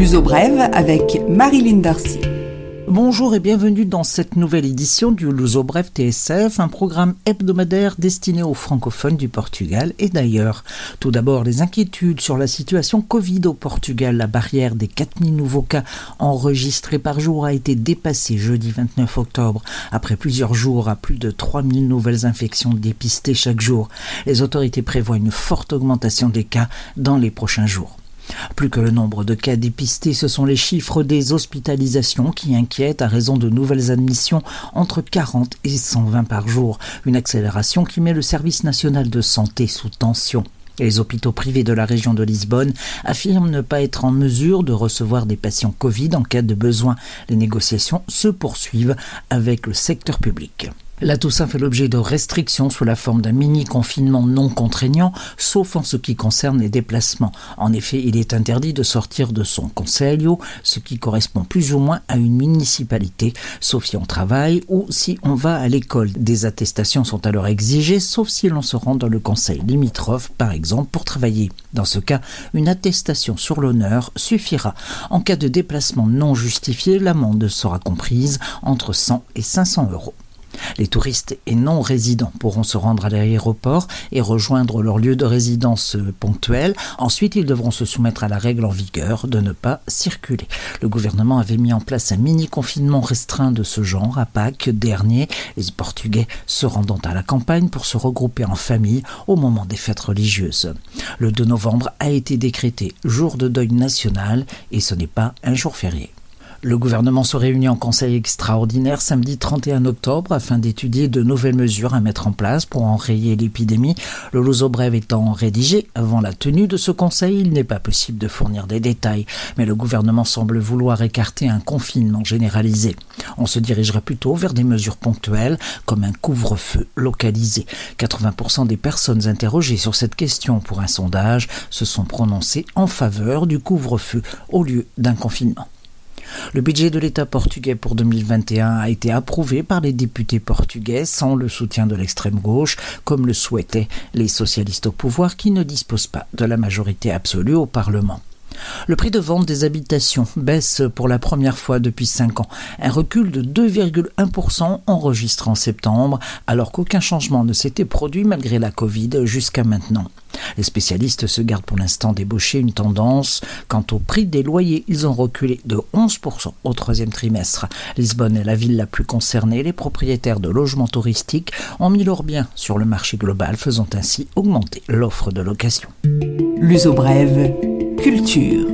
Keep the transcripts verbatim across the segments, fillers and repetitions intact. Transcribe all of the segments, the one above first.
Luso Brève avec Marilyn Darcy. Bonjour et bienvenue dans cette nouvelle édition du Luso Brève T S F, un programme hebdomadaire destiné aux francophones du Portugal et d'ailleurs. Tout d'abord, les inquiétudes sur la situation Covid au Portugal. La barrière des quatre mille nouveaux cas enregistrés par jour a été dépassée jeudi vingt-neuf octobre, après plusieurs jours à plus de trois mille nouvelles infections dépistées chaque jour. Les autorités prévoient une forte augmentation des cas dans les prochains jours. Plus que le nombre de cas dépistés, ce sont les chiffres des hospitalisations qui inquiètent à raison de nouvelles admissions entre quarante et cent vingt par jour. Une accélération qui met le service national de santé sous tension. Les hôpitaux privés de la région de Lisbonne affirment ne pas être en mesure de recevoir des patients Covid en cas de besoin. Les négociations se poursuivent avec le secteur public. La Toussaint fait l'objet de restrictions sous la forme d'un mini-confinement non contraignant, sauf en ce qui concerne les déplacements. En effet, il est interdit de sortir de son concelho, ce qui correspond plus ou moins à une municipalité, sauf si on travaille ou si on va à l'école. Des attestations sont alors exigées, sauf si l'on se rend dans le conseil limitrophe, par exemple, pour travailler. Dans ce cas, une attestation sur l'honneur suffira. En cas de déplacement non justifié, l'amende sera comprise entre cent et cinq cents euros. Les touristes et non-résidents pourront se rendre à l'aéroport et rejoindre leur lieu de résidence ponctuel. Ensuite, ils devront se soumettre à la règle en vigueur de ne pas circuler. Le gouvernement avait mis en place un mini-confinement restreint de ce genre à Pâques dernier, les Portugais se rendant à la campagne pour se regrouper en famille au moment des fêtes religieuses. Le deux novembre a été décrété jour de deuil national et ce n'est pas un jour férié. Le gouvernement se réunit en conseil extraordinaire samedi trente et un octobre afin d'étudier de nouvelles mesures à mettre en place pour enrayer l'épidémie. Le Luso Brève étant rédigé avant la tenue de ce conseil, il n'est pas possible de fournir des détails. Mais le gouvernement semble vouloir écarter un confinement généralisé. On se dirigerait plutôt vers des mesures ponctuelles comme un couvre-feu localisé. quatre-vingts pour cent des personnes interrogées sur cette question pour un sondage se sont prononcées en faveur du couvre-feu au lieu d'un confinement. Le budget de l'État portugais pour deux mille vingt et un a été approuvé par les députés portugais sans le soutien de l'extrême gauche, comme le souhaitaient les socialistes au pouvoir qui ne disposent pas de la majorité absolue au Parlement. Le prix de vente des habitations baisse pour la première fois depuis cinq ans. Un recul de deux virgule un pour cent enregistré en septembre, alors qu'aucun changement ne s'était produit malgré la Covid jusqu'à maintenant. Les spécialistes se gardent pour l'instant d'ébaucher une tendance. Quant au prix des loyers, ils ont reculé de onze pour cent au troisième trimestre. Lisbonne est la ville la plus concernée. Les propriétaires de logements touristiques ont mis leurs biens sur le marché global, faisant ainsi augmenter l'offre de location. Luso Brève, culture.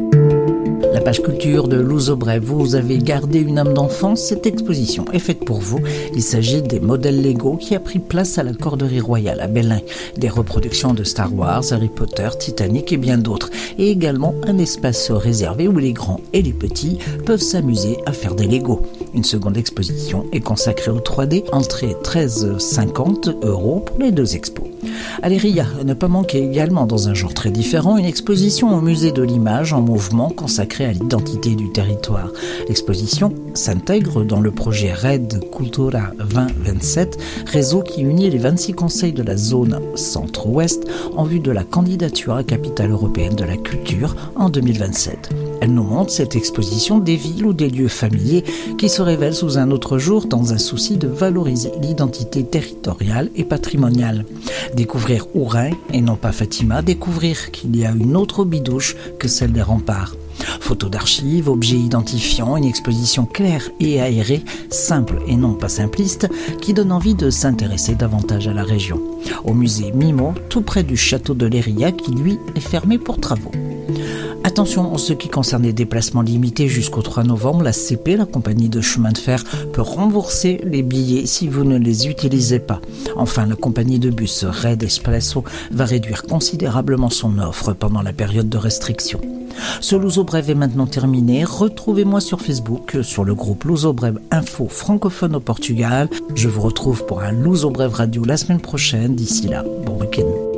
La page culture de Luso Brève. Vous avez gardé une âme d'enfant. Cette exposition est faite pour vous. Il s'agit des modèles Lego qui a pris place à la Corderie Royale à Belém. Des reproductions de Star Wars, Harry Potter, Titanic et bien d'autres. Et également un espace réservé où les grands et les petits peuvent s'amuser à faire des Lego. Une seconde exposition est consacrée au trois D. Entrée treize euros cinquante pour les deux expos. Aléria, ne pas manquer également dans un genre très différent, une exposition au musée de l'image en mouvement consacrée à l'identité du territoire. L'exposition s'intègre dans le projet Red Cultura vingt vingt-sept, réseau qui unit les vingt-six conseils de la zone centre-ouest en vue de la candidature à capitale européenne de la culture en deux mille vingt-sept. Elle nous montre cette exposition des villes ou des lieux familiers qui se révèlent sous un autre jour dans un souci de valoriser l'identité territoriale et patrimoniale. Découvrir Ourin et non pas Fatima, découvrir qu'il y a une autre bidouche que celle des remparts. Photos d'archives, objets identifiants, une exposition claire et aérée, simple et non pas simpliste, qui donne envie de s'intéresser davantage à la région. Au musée Mimo, tout près du château de Leiria, qui lui est fermé pour travaux. Attention, en ce qui concerne les déplacements limités jusqu'au trois novembre, la C P, la compagnie de chemin de fer, peut rembourser les billets si vous ne les utilisez pas. Enfin, la compagnie de bus Red Expresso va réduire considérablement son offre pendant la période de restriction. Ce Luso Brève est maintenant terminé. Retrouvez-moi sur Facebook, sur le groupe Luso Brève Info francophone au Portugal. Je vous retrouve pour un Luso Brève Radio la semaine prochaine. D'ici là, bon week-end.